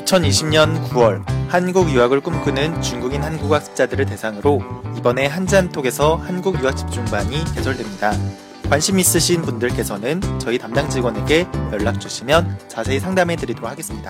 2020년 9월 한국 유학을 꿈꾸는 중국인 한국 학습자들을 대상으로 이번에 한자한톡에서 한국 유학 집중반이 개설됩니다. 관심 있으신 분들께서는 저희 담당 직원에게 연락 주시면 자세히 상담해 드리도록 하겠습니다.